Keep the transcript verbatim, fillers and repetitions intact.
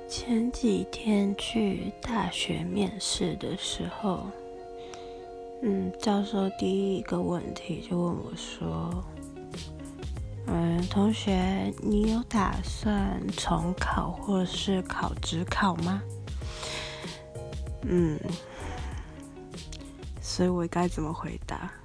前几天去大学面试的时候，嗯，教授第一个问题就问我说：“嗯，同学，你有打算重考或是考指考吗？”嗯，所以我该怎么回答？